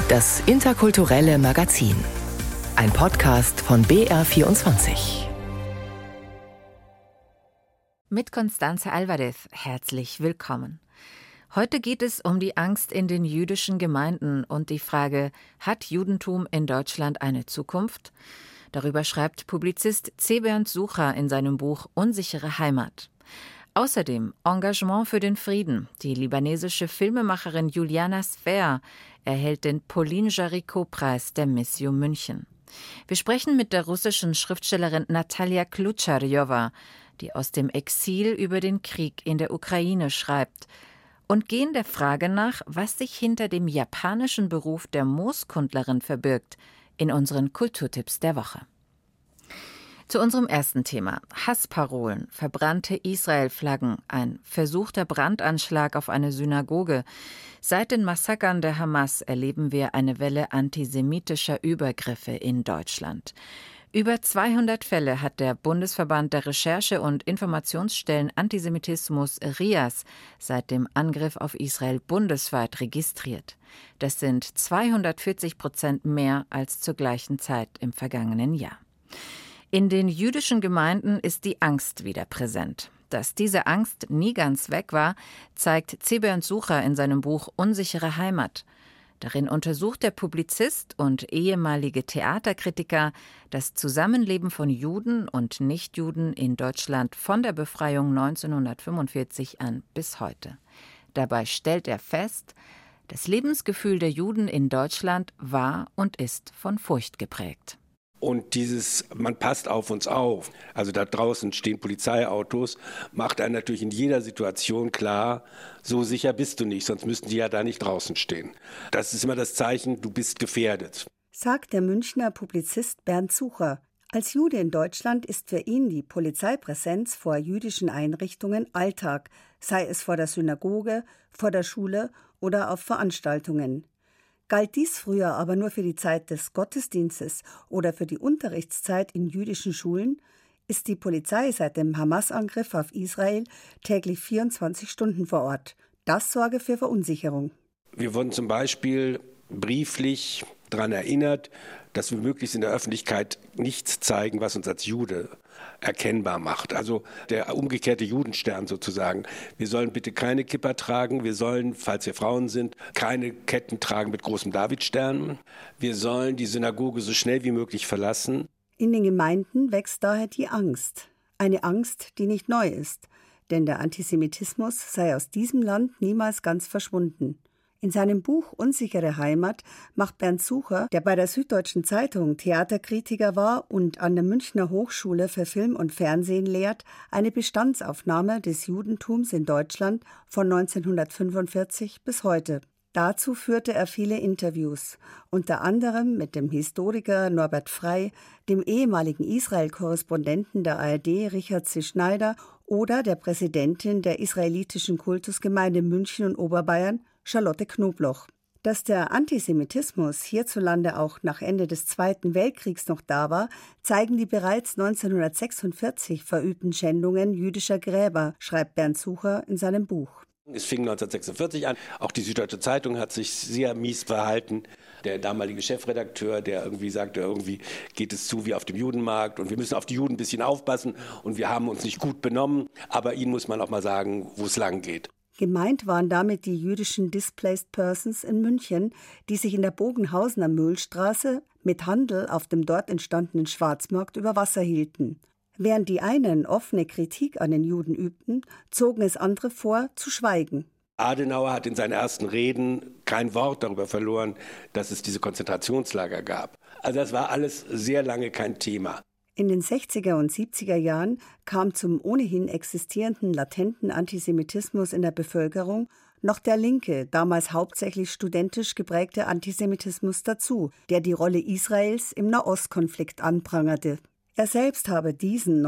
Das interkulturelle Magazin. Ein Podcast von BR24. Mit Constanze Alvarez, herzlich willkommen. Heute geht es um die Angst in den jüdischen Gemeinden und die Frage, hat Judentum in Deutschland eine Zukunft? Darüber schreibt Publizist C. Bernd Sucher in seinem Buch Unsichere Heimat. Außerdem Engagement für den Frieden. Die libanesische Filmemacherin Juliana Sfer erhält den Pauline-Jaricot-Preis der Missio München. Wir sprechen mit der russischen Schriftstellerin Natalia Klutscharjowa, die aus dem Exil über den Krieg in der Ukraine schreibt, und gehen der Frage nach, was sich hinter dem japanischen Beruf der Mooskundlerin verbirgt, in unseren Kulturtipps der Woche. Zu unserem ersten Thema: Hassparolen, verbrannte Israel-Flaggen, ein versuchter Brandanschlag auf eine Synagoge. Seit den Massakern der Hamas erleben wir eine Welle antisemitischer Übergriffe in Deutschland. Über 200 Fälle hat der Bundesverband der Recherche- und Informationsstellen Antisemitismus RIAS seit dem Angriff auf Israel bundesweit registriert. Das sind 240% mehr als zur gleichen Zeit im vergangenen Jahr. In den jüdischen Gemeinden ist die Angst wieder präsent. Dass diese Angst nie ganz weg war, zeigt C. Bernd Sucher in seinem Buch Unsichere Heimat. Darin untersucht der Publizist und ehemalige Theaterkritiker das Zusammenleben von Juden und Nichtjuden in Deutschland von der Befreiung 1945 an bis heute. Dabei stellt er fest, das Lebensgefühl der Juden in Deutschland war und ist von Furcht geprägt. Und man passt auf uns auf, also da draußen stehen Polizeiautos, macht einen natürlich in jeder Situation klar, so sicher bist du nicht, sonst müssten die ja da nicht draußen stehen. Das ist immer das Zeichen, du bist gefährdet. Sagt der Münchner Publizist Bernd Sucher. Als Jude in Deutschland ist für ihn die Polizeipräsenz vor jüdischen Einrichtungen Alltag, sei es vor der Synagoge, vor der Schule oder auf Veranstaltungen. Galt dies früher aber nur für die Zeit des Gottesdienstes oder für die Unterrichtszeit in jüdischen Schulen, ist die Polizei seit dem Hamas-Angriff auf Israel täglich 24 Stunden vor Ort. Das sorge für Verunsicherung. Wir wurden zum Beispiel brieflich daran erinnert, dass wir möglichst in der Öffentlichkeit nichts zeigen, was uns als Jude erkennbar macht. Also der umgekehrte Judenstern sozusagen. Wir sollen bitte keine Kippa tragen. Wir sollen, falls wir Frauen sind, keine Ketten tragen mit großem Davidstern. Wir sollen die Synagoge so schnell wie möglich verlassen. In den Gemeinden wächst daher die Angst. Eine Angst, die nicht neu ist. Denn der Antisemitismus sei aus diesem Land niemals ganz verschwunden. In seinem Buch Unsichere Heimat macht Bernd Sucher, der bei der Süddeutschen Zeitung Theaterkritiker war und an der Münchner Hochschule für Film und Fernsehen lehrt, eine Bestandsaufnahme des Judentums in Deutschland von 1945 bis heute. Dazu führte er viele Interviews, unter anderem mit dem Historiker Norbert Frey, dem ehemaligen Israel-Korrespondenten der ARD Richard C. Schneider oder der Präsidentin der israelitischen Kultusgemeinde München und Oberbayern, Charlotte Knobloch. Dass der Antisemitismus hierzulande auch nach Ende des Zweiten Weltkriegs noch da war, zeigen die bereits 1946 verübten Schändungen jüdischer Gräber, schreibt Bernd Sucher in seinem Buch. Es fing 1946 an. Auch die Süddeutsche Zeitung hat sich sehr mies verhalten. Der damalige Chefredakteur, der irgendwie sagte, irgendwie geht es zu wie auf dem Judenmarkt und wir müssen auf die Juden ein bisschen aufpassen und wir haben uns nicht gut benommen. Aber ihnen muss man auch mal sagen, wo es lang geht. Gemeint waren damit die jüdischen Displaced Persons in München, die sich in der Bogenhausener Mühlstraße mit Handel auf dem dort entstandenen Schwarzmarkt über Wasser hielten. Während die einen offene Kritik an den Juden übten, zogen es andere vor, zu schweigen. Adenauer hat in seinen ersten Reden kein Wort darüber verloren, dass es diese Konzentrationslager gab. Also das war alles sehr lange kein Thema. In den 60er und 70er Jahren kam zum ohnehin existierenden latenten Antisemitismus in der Bevölkerung noch der linke, damals hauptsächlich studentisch geprägte Antisemitismus dazu, der die Rolle Israels im Nahostkonflikt anprangerte. Er selbst habe diesen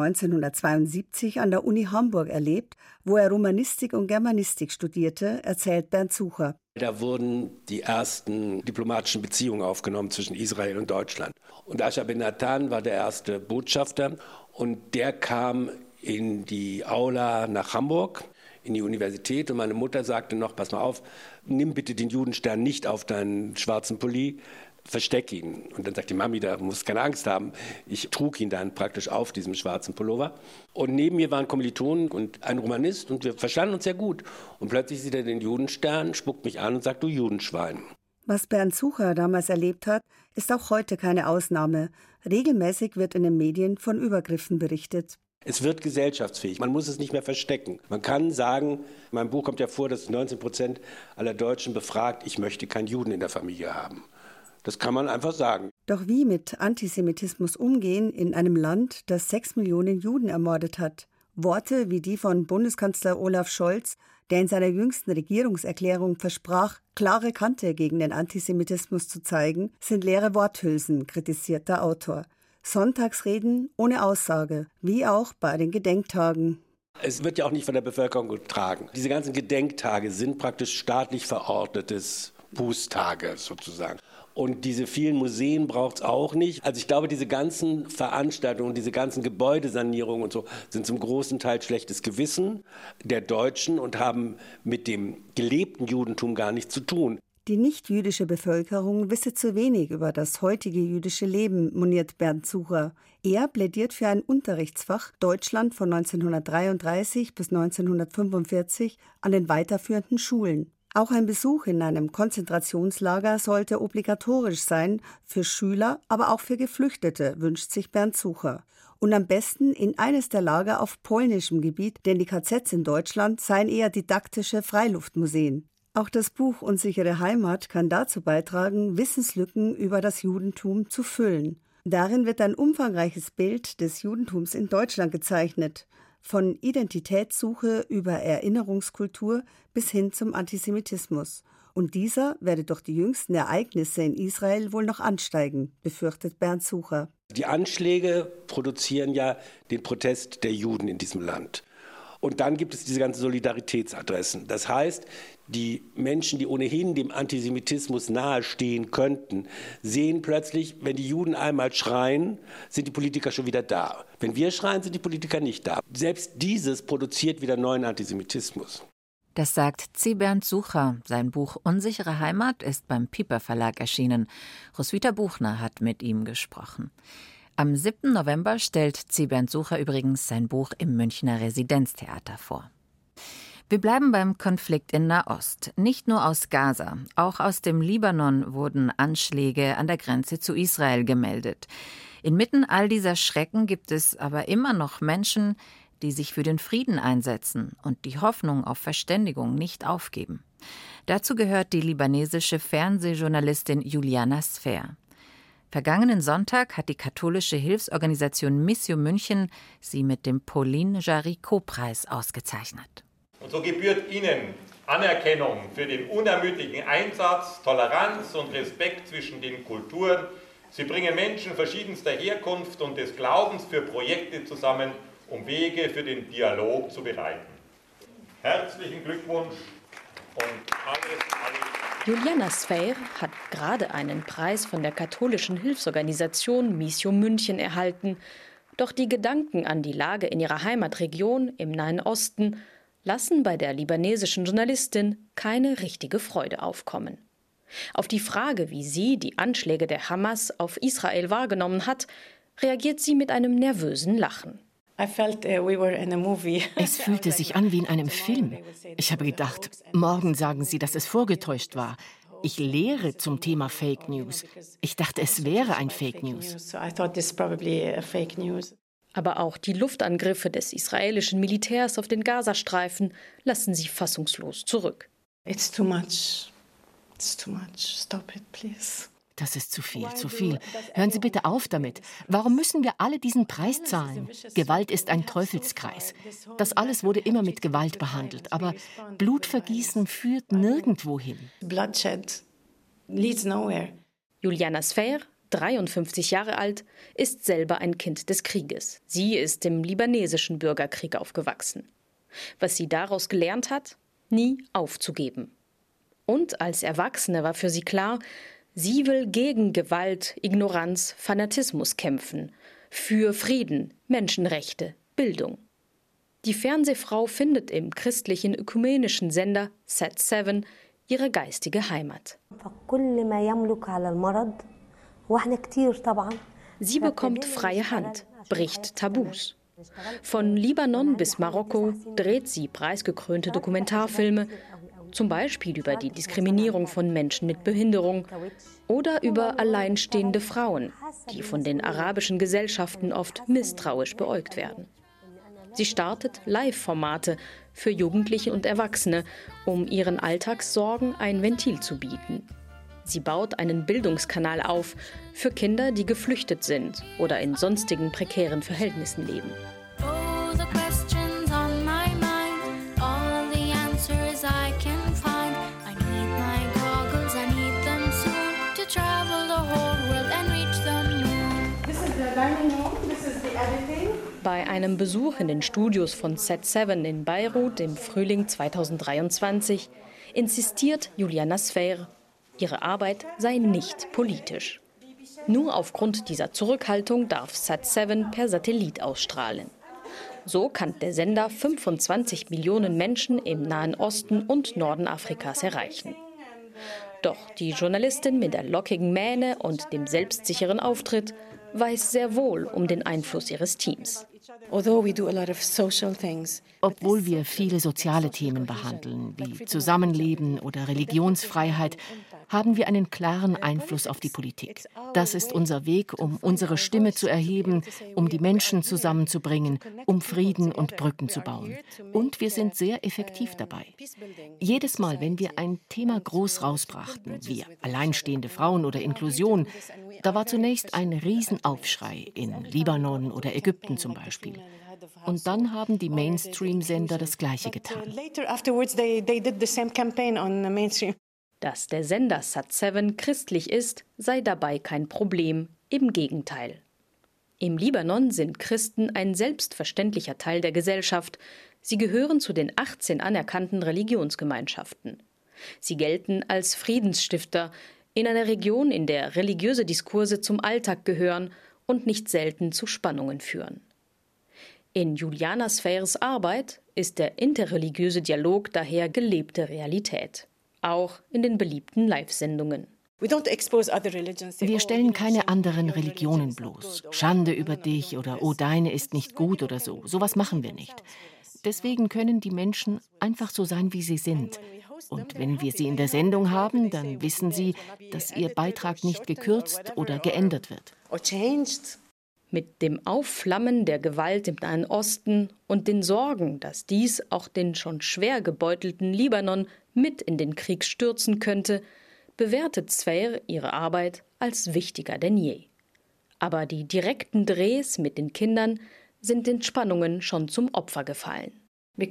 1972 an der Uni Hamburg erlebt, wo er Romanistik und Germanistik studierte, erzählt Bernd Sucher. Da wurden die ersten diplomatischen Beziehungen aufgenommen zwischen Israel und Deutschland. Und Asher Ben Natan war der erste Botschafter und der kam in die Aula nach Hamburg, in die Universität und meine Mutter sagte noch, pass mal auf, nimm bitte den Judenstern nicht auf deinen schwarzen Pulli, versteck ihn. Und dann sagt die Mami, da musst keine Angst haben. Ich trug ihn dann praktisch auf diesem schwarzen Pullover. Und neben mir waren Kommilitonen und ein Romanist und wir verstanden uns sehr gut. Und plötzlich sieht er den Judenstern, spuckt mich an und sagt, du Judenschwein. Was Bernd Sucher damals erlebt hat, ist auch heute keine Ausnahme. Regelmäßig wird in den Medien von Übergriffen berichtet. Es wird gesellschaftsfähig. Man muss es nicht mehr verstecken. Man kann sagen, in meinem Buch kommt ja vor, dass 19% aller Deutschen befragt, ich möchte keinen Juden in der Familie haben. Das kann man einfach sagen. Doch wie mit Antisemitismus umgehen in einem Land, das 6 Millionen Juden ermordet hat? Worte wie die von Bundeskanzler Olaf Scholz, der in seiner jüngsten Regierungserklärung versprach, klare Kante gegen den Antisemitismus zu zeigen, sind leere Worthülsen, kritisiert der Autor. Sonntagsreden ohne Aussage, wie auch bei den Gedenktagen. Es wird ja auch nicht von der Bevölkerung getragen. Diese ganzen Gedenktage sind praktisch staatlich verordnetes Bußtage sozusagen. Und diese vielen Museen braucht es auch nicht. Also ich glaube, diese ganzen Veranstaltungen, diese ganzen Gebäudesanierungen und so sind zum großen Teil schlechtes Gewissen der Deutschen und haben mit dem gelebten Judentum gar nichts zu tun. Die nicht-jüdische Bevölkerung wisse zu wenig über das heutige jüdische Leben, moniert Bernd Sucher. Er plädiert für ein Unterrichtsfach Deutschland von 1933 bis 1945 an den weiterführenden Schulen. Auch ein Besuch in einem Konzentrationslager sollte obligatorisch sein, für Schüler, aber auch für Geflüchtete, wünscht sich Bernd Sucher. Und am besten in eines der Lager auf polnischem Gebiet, denn die KZs in Deutschland seien eher didaktische Freiluftmuseen. Auch das Buch Unsichere Heimat kann dazu beitragen, Wissenslücken über das Judentum zu füllen. Darin wird ein umfangreiches Bild des Judentums in Deutschland gezeichnet. Von Identitätssuche über Erinnerungskultur bis hin zum Antisemitismus. Und dieser werde durch die jüngsten Ereignisse in Israel wohl noch ansteigen, befürchtet Bernd Sucher. Die Anschläge produzieren ja den Protest der Juden in diesem Land. Und dann gibt es diese ganzen Solidaritätsadressen. Das heißt, die Menschen, die ohnehin dem Antisemitismus nahestehen könnten, sehen plötzlich, wenn die Juden einmal schreien, sind die Politiker schon wieder da. Wenn wir schreien, sind die Politiker nicht da. Selbst dieses produziert wieder neuen Antisemitismus. Das sagt C. Bernd Sucher. Sein Buch Unsichere Heimat ist beim Piper Verlag erschienen. Roswitha Buchner hat mit ihm gesprochen. Am 7. November stellt C. Bernd Sucher übrigens sein Buch im Münchner Residenztheater vor. Wir bleiben beim Konflikt in Nahost. Nicht nur aus Gaza, auch aus dem Libanon wurden Anschläge an der Grenze zu Israel gemeldet. Inmitten all dieser Schrecken gibt es aber immer noch Menschen, die sich für den Frieden einsetzen und die Hoffnung auf Verständigung nicht aufgeben. Dazu gehört die libanesische Fernsehjournalistin Juliana Sfer. Vergangenen Sonntag hat die katholische Hilfsorganisation Mission München sie mit dem Pauline Jaricot-Preis ausgezeichnet. Und so gebührt Ihnen Anerkennung für den unermüdlichen Einsatz, Toleranz und Respekt zwischen den Kulturen. Sie bringen Menschen verschiedenster Herkunft und des Glaubens für Projekte zusammen, um Wege für den Dialog zu bereiten. Herzlichen Glückwunsch und alles. Juliana Sfer hat gerade einen Preis von der katholischen Hilfsorganisation Mission München erhalten. Doch die Gedanken an die Lage in ihrer Heimatregion im Nahen Osten lassen bei der libanesischen Journalistin keine richtige Freude aufkommen. Auf die Frage, wie sie die Anschläge der Hamas auf Israel wahrgenommen hat, reagiert sie mit einem nervösen Lachen. Es fühlte sich an wie in einem Film. Ich habe gedacht, morgen sagen sie, dass es vorgetäuscht war. Ich lehre zum Thema Fake News. Ich dachte, es wäre ein Fake News. Aber auch die Luftangriffe des israelischen Militärs auf den Gazastreifen lassen sie fassungslos zurück. It's too much. It's too much. Stop it, please. Das ist zu viel, zu viel. Hören Sie bitte auf damit. Warum müssen wir alle diesen Preis zahlen? Gewalt ist ein Teufelskreis. Das alles wurde immer mit Gewalt behandelt. Aber Blutvergießen führt nirgendwo hin. Bloodshed leads nowhere. Juliana Sfer, 53 Jahre alt, ist selber ein Kind des Krieges. Sie ist im libanesischen Bürgerkrieg aufgewachsen. Was sie daraus gelernt hat? Nie aufzugeben. Und als Erwachsene war für sie klar, sie will gegen Gewalt, Ignoranz, Fanatismus kämpfen. Für Frieden, Menschenrechte, Bildung. Die Fernsehfrau findet im christlichen ökumenischen Sender Sat7 ihre geistige Heimat. Sie bekommt freie Hand, bricht Tabus. Von Libanon bis Marokko dreht sie preisgekrönte Dokumentarfilme, zum Beispiel über die Diskriminierung von Menschen mit Behinderung oder über alleinstehende Frauen, die von den arabischen Gesellschaften oft misstrauisch beäugt werden. Sie startet Live-Formate für Jugendliche und Erwachsene, um ihren Alltagssorgen ein Ventil zu bieten. Sie baut einen Bildungskanal auf für Kinder, die geflüchtet sind oder in sonstigen prekären Verhältnissen leben. Bei einem Besuch in den Studios von Sat7 in Beirut im Frühling 2023 insistiert Juliana Sfer, ihre Arbeit sei nicht politisch. Nur aufgrund dieser Zurückhaltung darf Sat7 per Satellit ausstrahlen. So kann der Sender 25 Millionen Menschen im Nahen Osten und Norden Afrikas erreichen. Doch die Journalistin mit der lockigen Mähne und dem selbstsicheren Auftritt weiß sehr wohl um den Einfluss ihres Teams. Obwohl wir viele soziale Themen behandeln, wie Zusammenleben oder Religionsfreiheit, haben wir einen klaren Einfluss auf die Politik. Das ist unser Weg, um unsere Stimme zu erheben, um die Menschen zusammenzubringen, um Frieden und Brücken zu bauen. Und wir sind sehr effektiv dabei. Jedes Mal, wenn wir ein Thema groß rausbrachten, wie alleinstehende Frauen oder Inklusion, da war zunächst ein Riesenaufschrei in Libanon oder Ägypten zum Beispiel. Und dann haben die Mainstream-Sender das Gleiche getan. Dass der Sender Sat7 christlich ist, sei dabei kein Problem, im Gegenteil. Im Libanon sind Christen ein selbstverständlicher Teil der Gesellschaft. Sie gehören zu den 18 anerkannten Religionsgemeinschaften. Sie gelten als Friedensstifter in einer Region, in der religiöse Diskurse zum Alltag gehören und nicht selten zu Spannungen führen. In Juliana Sfers Arbeit ist der interreligiöse Dialog daher gelebte Realität. Auch in den beliebten Live-Sendungen. Wir stellen keine anderen Religionen bloß. Schande über dich oder oh, deine ist nicht gut oder so. Sowas machen wir nicht. Deswegen können die Menschen einfach so sein, wie sie sind. Und wenn wir sie in der Sendung haben, dann wissen sie, dass ihr Beitrag nicht gekürzt oder geändert wird. Mit dem Aufflammen der Gewalt im Nahen Osten und den Sorgen, dass dies auch den schon schwer gebeutelten Libanon mit in den Krieg stürzen könnte, bewertet Sfer ihre Arbeit als wichtiger denn je. Aber die direkten Drehs mit den Kindern sind den Spannungen schon zum Opfer gefallen. Weil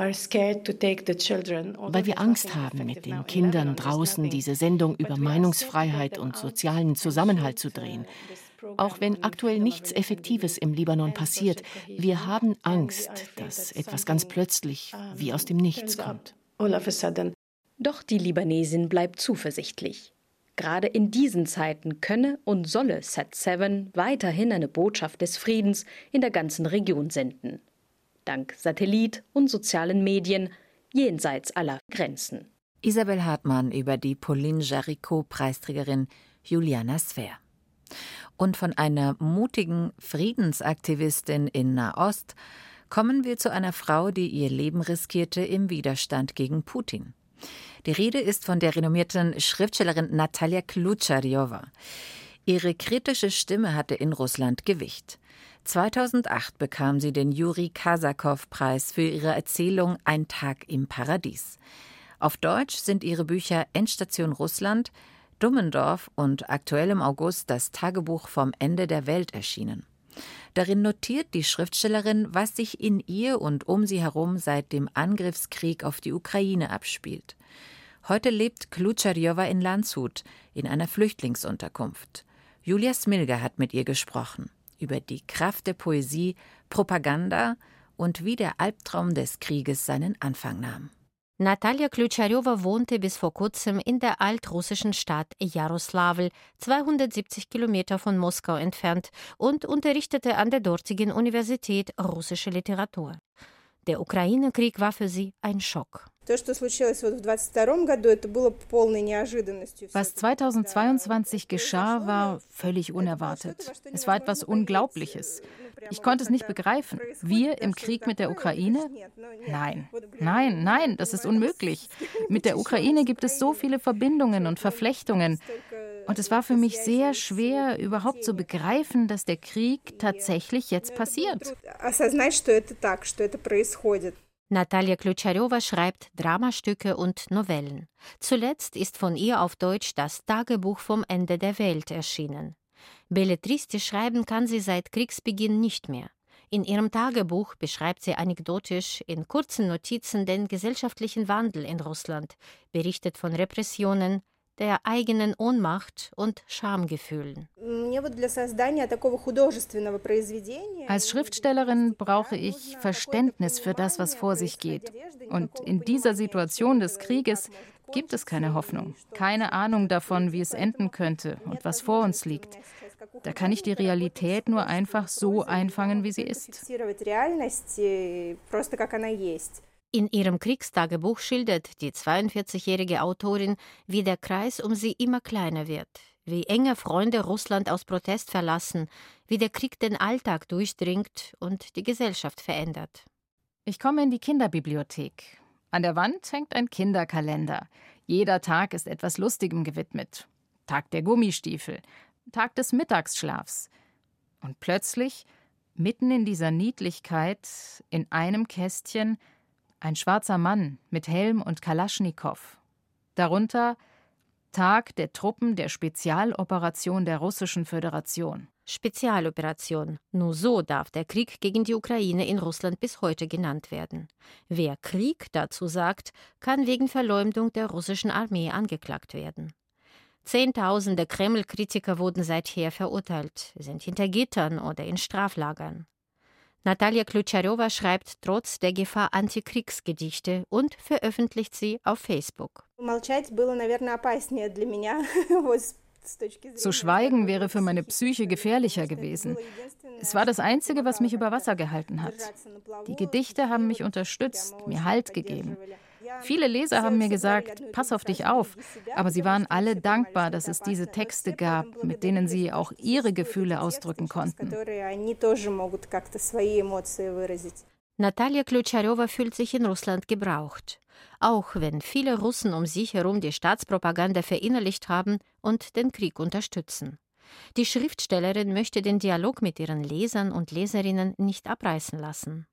wir Angst haben, mit den Kindern draußen diese Sendung über Meinungsfreiheit und sozialen Zusammenhalt zu drehen. Auch wenn aktuell nichts Effektives im Libanon passiert, wir haben Angst, dass etwas ganz plötzlich wie aus dem Nichts kommt. Doch die Libanesin bleibt zuversichtlich. Gerade in diesen Zeiten könne und solle Sat7 weiterhin eine Botschaft des Friedens in der ganzen Region senden. Dank Satellit und sozialen Medien jenseits aller Grenzen. Isabel Hartmann über die Pauline Jaricot-Preisträgerin Juliana Sfer. Und von einer mutigen Friedensaktivistin in Nahost kommen wir zu einer Frau, die ihr Leben riskierte im Widerstand gegen Putin. Die Rede ist von der renommierten Schriftstellerin Natalia Klutscharjowa. Ihre kritische Stimme hatte in Russland Gewicht. 2008 bekam sie den Juri-Kasakow-Preis für ihre Erzählung Ein Tag im Paradies. Auf Deutsch sind ihre Bücher Endstation Russland, Dummendorf und aktuell im August das Tagebuch vom Ende der Welt erschienen. Darin notiert die Schriftstellerin, was sich in ihr und um sie herum seit dem Angriffskrieg auf die Ukraine abspielt. Heute lebt Klutscharjowa in Landshut, in einer Flüchtlingsunterkunft. Julia Smilger hat mit ihr gesprochen über die Kraft der Poesie, Propaganda und wie der Albtraum des Krieges seinen Anfang nahm. Natalia Klutscharjowa wohnte bis vor kurzem in der altrussischen Stadt Jaroslawl, 270 Kilometer von Moskau entfernt, und unterrichtete an der dortigen Universität russische Literatur. Der Ukraine-Krieg war für sie ein Schock. Was 2022 geschah, war völlig unerwartet. Es war etwas Unglaubliches. Ich konnte es nicht begreifen. Wir im Krieg mit der Ukraine? Nein, nein, nein, das ist unmöglich. Mit der Ukraine gibt es so viele Verbindungen und Verflechtungen. Und es war für mich sehr schwer, überhaupt zu begreifen, dass der Krieg tatsächlich jetzt passiert. Natalia Kljucharewa schreibt Dramastücke und Novellen. Zuletzt ist von ihr auf Deutsch das Tagebuch vom Ende der Welt erschienen. Belletristisch schreiben kann sie seit Kriegsbeginn nicht mehr. In ihrem Tagebuch beschreibt sie anekdotisch in kurzen Notizen den gesellschaftlichen Wandel in Russland, berichtet von Repressionen, der eigenen Ohnmacht und Schamgefühlen. Als Schriftstellerin brauche ich Verständnis für das, was vor sich geht. Und in dieser Situation des Krieges gibt es keine Hoffnung, keine Ahnung davon, wie es enden könnte und was vor uns liegt. Da kann ich die Realität nur einfach so einfangen, wie sie ist. In ihrem Kriegstagebuch schildert die 42-jährige Autorin, wie der Kreis um sie immer kleiner wird, wie enge Freunde Russland aus Protest verlassen, wie der Krieg den Alltag durchdringt und die Gesellschaft verändert. Ich komme in die Kinderbibliothek. An der Wand hängt ein Kinderkalender. Jeder Tag ist etwas Lustigem gewidmet. Tag der Gummistiefel, Tag des Mittagsschlafs. Und plötzlich, mitten in dieser Niedlichkeit, in einem Kästchen, ein schwarzer Mann mit Helm und Kalaschnikow. Darunter Tag der Truppen der Spezialoperation der Russischen Föderation. Spezialoperation. Nur so darf der Krieg gegen die Ukraine in Russland bis heute genannt werden. Wer Krieg dazu sagt, kann wegen Verleumdung der russischen Armee angeklagt werden. Zehntausende Kreml-Kritiker wurden seither verurteilt, sind hinter Gittern oder in Straflagern. Natalia Kljucharewa schreibt trotz der Gefahr Antikriegsgedichte und veröffentlicht sie auf Facebook. Zu schweigen wäre für meine Psyche gefährlicher gewesen. Es war das Einzige, was mich über Wasser gehalten hat. Die Gedichte haben mich unterstützt, mir Halt gegeben. Viele Leser haben mir gesagt, pass auf dich auf, aber sie waren alle dankbar, dass es diese Texte gab, mit denen sie auch ihre Gefühle ausdrücken konnten. Natalia Kljucharewa fühlt sich in Russland gebraucht, auch wenn viele Russen um sich herum die Staatspropaganda verinnerlicht haben und den Krieg unterstützen. Die Schriftstellerin möchte den Dialog mit ihren Lesern und Leserinnen nicht abreißen lassen.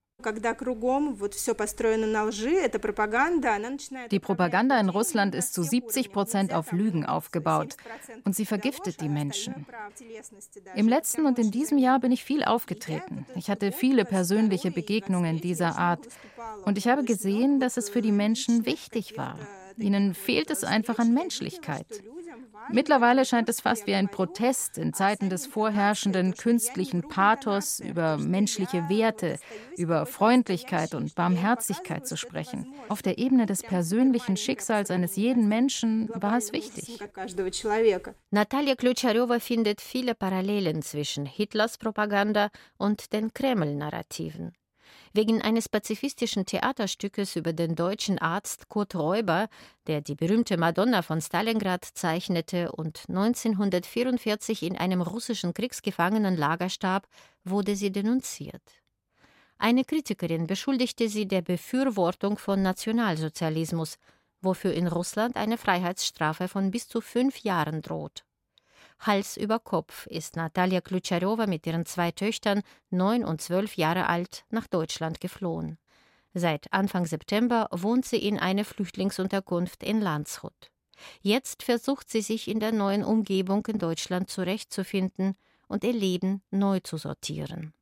Die Propaganda in Russland ist zu 70% auf Lügen aufgebaut und sie vergiftet die Menschen. Im letzten und in diesem Jahr bin ich viel aufgetreten. Ich hatte viele persönliche Begegnungen dieser Art und ich habe gesehen, dass es für die Menschen wichtig war. Ihnen fehlt es einfach an Menschlichkeit. Mittlerweile scheint es fast wie ein Protest in Zeiten des vorherrschenden künstlichen Pathos über menschliche Werte, über Freundlichkeit und Barmherzigkeit zu sprechen. Auf der Ebene des persönlichen Schicksals eines jeden Menschen war es wichtig. Natalia Kljucharewa findet viele Parallelen zwischen Hitlers Propaganda und den Kreml-Narrativen. Wegen eines pazifistischen Theaterstückes über den deutschen Arzt Kurt Räuber, der die berühmte Madonna von Stalingrad zeichnete und 1944 in einem russischen Kriegsgefangenenlager starb, wurde sie denunziert. Eine Kritikerin beschuldigte sie der Befürwortung von Nationalsozialismus, wofür in Russland eine Freiheitsstrafe von bis zu 5 Jahren droht. Hals über Kopf ist Natalia Kljucharewa mit ihren 2 Töchtern, 9 und 12 Jahre alt, nach Deutschland geflohen. Seit Anfang September wohnt sie in einer Flüchtlingsunterkunft in Landshut. Jetzt versucht sie sich in der neuen Umgebung in Deutschland zurechtzufinden und ihr Leben neu zu sortieren.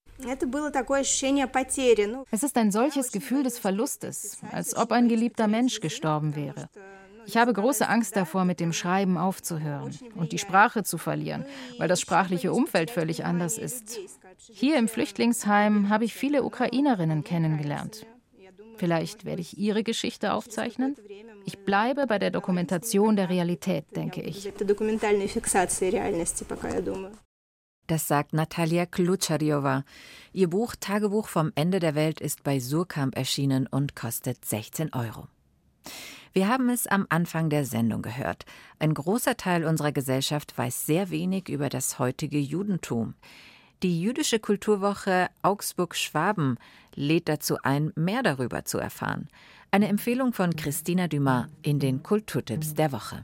Es ist ein solches Gefühl des Verlustes, als ob ein geliebter Mensch gestorben wäre. Ich habe große Angst davor, mit dem Schreiben aufzuhören und die Sprache zu verlieren, weil das sprachliche Umfeld völlig anders ist. Hier im Flüchtlingsheim habe ich viele Ukrainerinnen kennengelernt. Vielleicht werde ich ihre Geschichte aufzeichnen? Ich bleibe bei der Dokumentation der Realität, denke ich. Das sagt Natalia Klucharyova. Ihr Buch Tagebuch vom Ende der Welt ist bei Suhrkamp erschienen und kostet 16 €. Wir haben es am Anfang der Sendung gehört. Ein großer Teil unserer Gesellschaft weiß sehr wenig über das heutige Judentum. Die Jüdische Kulturwoche Augsburg-Schwaben lädt dazu ein, mehr darüber zu erfahren. Eine Empfehlung von Christina Dumas in den Kulturtipps der Woche.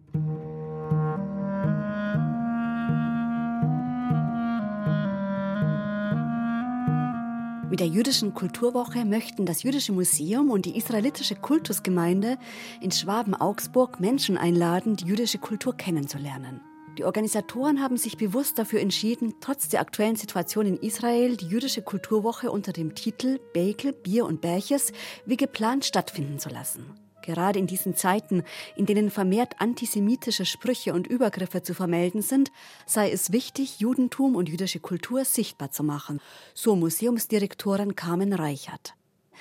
Mit der Jüdischen Kulturwoche möchten das Jüdische Museum und die israelitische Kultusgemeinde in Schwaben-Augsburg Menschen einladen, die jüdische Kultur kennenzulernen. Die Organisatoren haben sich bewusst dafür entschieden, trotz der aktuellen Situation in Israel die Jüdische Kulturwoche unter dem Titel Beikel, Bier und Bärches wie geplant stattfinden zu lassen. Gerade in diesen Zeiten, in denen vermehrt antisemitische Sprüche und Übergriffe zu vermelden sind, sei es wichtig, Judentum und jüdische Kultur sichtbar zu machen, so Museumsdirektorin Carmen Reichert.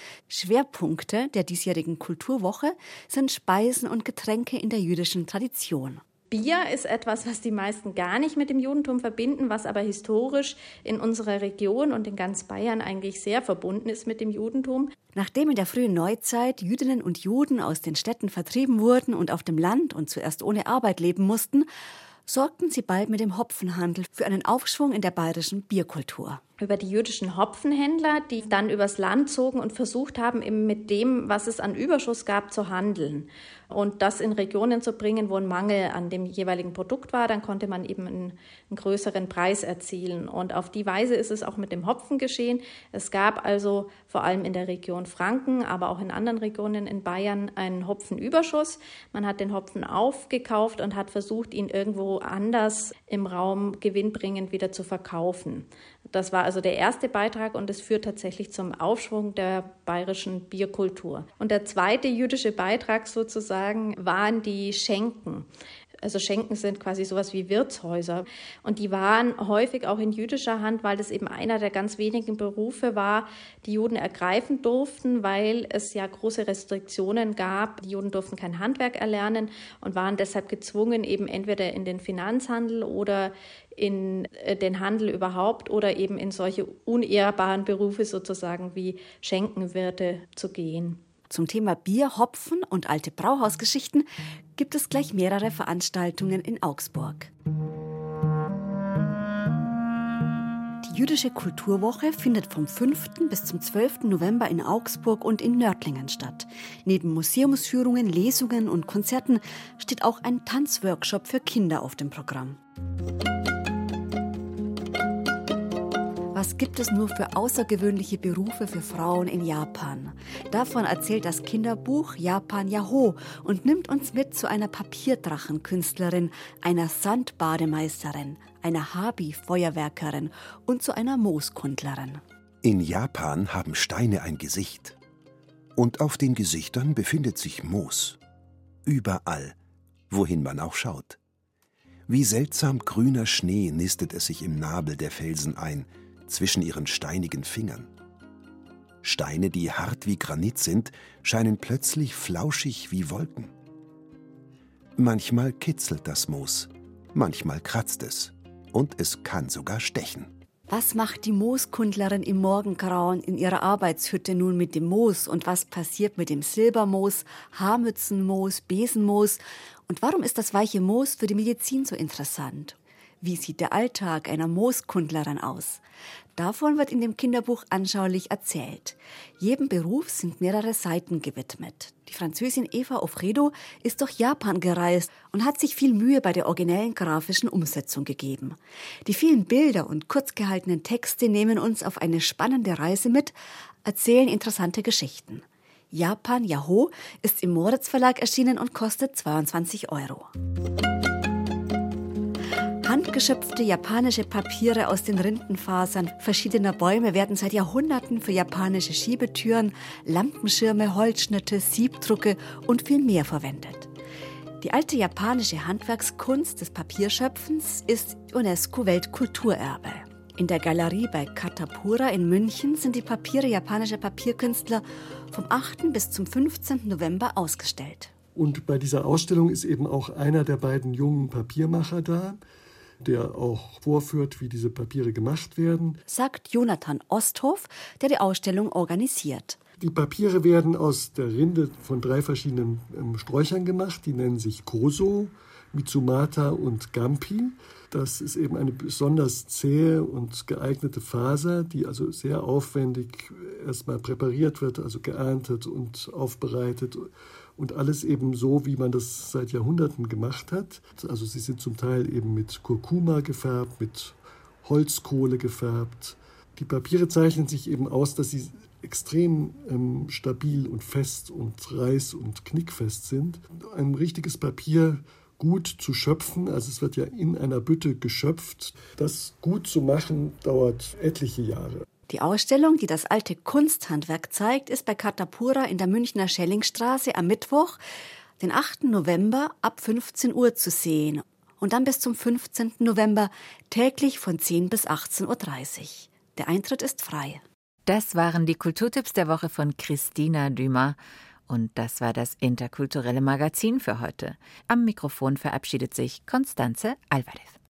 Schwerpunkte der diesjährigen Kulturwoche sind Speisen und Getränke in der jüdischen Tradition. Bier ist etwas, was die meisten gar nicht mit dem Judentum verbinden, was aber historisch in unserer Region und in ganz Bayern eigentlich sehr verbunden ist mit dem Judentum. Nachdem in der frühen Neuzeit Jüdinnen und Juden aus den Städten vertrieben wurden und auf dem Land und zuerst ohne Arbeit leben mussten, sorgten sie bald mit dem Hopfenhandel für einen Aufschwung in der bayerischen Bierkultur. Über die jüdischen Hopfenhändler, die dann übers Land zogen und versucht haben, eben mit dem, was es an Überschuss gab, zu handeln. Und das in Regionen zu bringen, wo ein Mangel an dem jeweiligen Produkt war, dann konnte man eben einen größeren Preis erzielen. Und auf die Weise ist es auch mit dem Hopfen geschehen. Es gab also vor allem in der Region Franken, aber auch in anderen Regionen in Bayern einen Hopfenüberschuss. Man hat den Hopfen aufgekauft und hat versucht, ihn irgendwo anders im Raum gewinnbringend wieder zu verkaufen. Das war also der erste Beitrag und es führt tatsächlich zum Aufschwung der bayerischen Bierkultur. Und der zweite jüdische Beitrag sozusagen waren die Schenken. Also Schenken sind quasi sowas wie Wirtshäuser. Und die waren häufig auch in jüdischer Hand, weil das eben einer der ganz wenigen Berufe war, die Juden ergreifen durften, weil es ja große Restriktionen gab. Die Juden durften kein Handwerk erlernen und waren deshalb gezwungen, eben entweder in den Finanzhandel oder in den Handel überhaupt oder eben in solche unehrbaren Berufe sozusagen wie Schenkenwirte zu gehen. Zum Thema Bier, Hopfen und alte Brauhausgeschichten gibt es gleich mehrere Veranstaltungen in Augsburg. Die Jüdische Kulturwoche findet vom 5. bis zum 12. November in Augsburg und in Nördlingen statt. Neben Museumsführungen, Lesungen und Konzerten steht auch ein Tanzworkshop für Kinder auf dem Programm. Was gibt es nur für außergewöhnliche Berufe für Frauen in Japan? Davon erzählt das Kinderbuch Japan Yahoo und nimmt uns mit zu einer Papierdrachenkünstlerin, einer Sandbademeisterin, einer Habi-Feuerwerkerin und zu einer Mooskundlerin. In Japan haben Steine ein Gesicht. Und auf den Gesichtern befindet sich Moos. Überall, wohin man auch schaut. Wie seltsam grüner Schnee nistet es sich im Nabel der Felsen ein, zwischen ihren steinigen Fingern. Steine, die hart wie Granit sind, scheinen plötzlich flauschig wie Wolken. Manchmal kitzelt das Moos, manchmal kratzt es und es kann sogar stechen. Was macht die Mooskundlerin im Morgengrauen in ihrer Arbeitshütte nun mit dem Moos und was passiert mit dem Silbermoos, Haarmützenmoos, Besenmoos und warum ist das weiche Moos für die Medizin so interessant? Wie sieht der Alltag einer Mooskundlerin aus? Davon wird in dem Kinderbuch anschaulich erzählt. Jedem Beruf sind mehrere Seiten gewidmet. Die Französin Eva Offredo ist durch Japan gereist und hat sich viel Mühe bei der originellen grafischen Umsetzung gegeben. Die vielen Bilder und kurz gehaltenen Texte nehmen uns auf eine spannende Reise mit, erzählen interessante Geschichten. Japan Yahoo ist im Moritz Verlag erschienen und kostet 22 €. Handgeschöpfte japanische Papiere aus den Rindenfasern verschiedener Bäume werden seit Jahrhunderten für japanische Schiebetüren, Lampenschirme, Holzschnitte, Siebdrucke und viel mehr verwendet. Die alte japanische Handwerkskunst des Papierschöpfens ist UNESCO-Weltkulturerbe. In der Galerie bei Katapura in München sind die Papiere japanischer Papierkünstler vom 8. bis zum 15. November ausgestellt. Und bei dieser Ausstellung ist eben auch einer der beiden jungen Papiermacher da, der auch vorführt, wie diese Papiere gemacht werden. Sagt Jonathan Osthoff, der die Ausstellung organisiert. Die Papiere werden aus der Rinde von 3 verschiedenen Sträuchern gemacht. Die nennen sich Koso, Mitsumata und Gampi. Das ist eben eine besonders zähe und geeignete Faser, die also sehr aufwendig erstmal präpariert wird, also geerntet und aufbereitet. Und alles eben so, wie man das seit Jahrhunderten gemacht hat. Also sie sind zum Teil eben mit Kurkuma gefärbt, mit Holzkohle gefärbt. Die Papiere zeichnen sich eben aus, dass sie extrem stabil und fest und reiß- und knickfest sind. Ein richtiges Papier gut zu schöpfen, also es wird ja in einer Bütte geschöpft, das gut zu machen, dauert etliche Jahre. Die Ausstellung, die das alte Kunsthandwerk zeigt, ist bei Katapura in der Münchner Schellingstraße am Mittwoch, den 8. November ab 15 Uhr zu sehen und dann bis zum 15. November täglich von 10 bis 18.30 Uhr. Der Eintritt ist frei. Das waren die Kulturtipps der Woche von Christina Dumas. Und das war das interkulturelle Magazin für heute. Am Mikrofon verabschiedet sich Constanze Alvarez.